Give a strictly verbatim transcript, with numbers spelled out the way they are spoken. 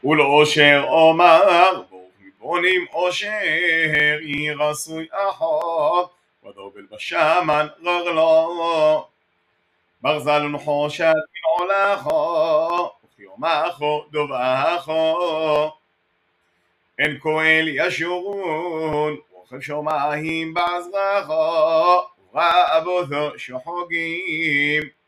ולאושר אומר, ברוך מבונים אושר, יהי רצוי אחות, ודובל בשמן רגלו. ברזל ונחושת מנעולךו, וכיומךו דובעךו. אין כהל ישורון, רוכב שמיים בעזרכו, ורבותו שחוגים.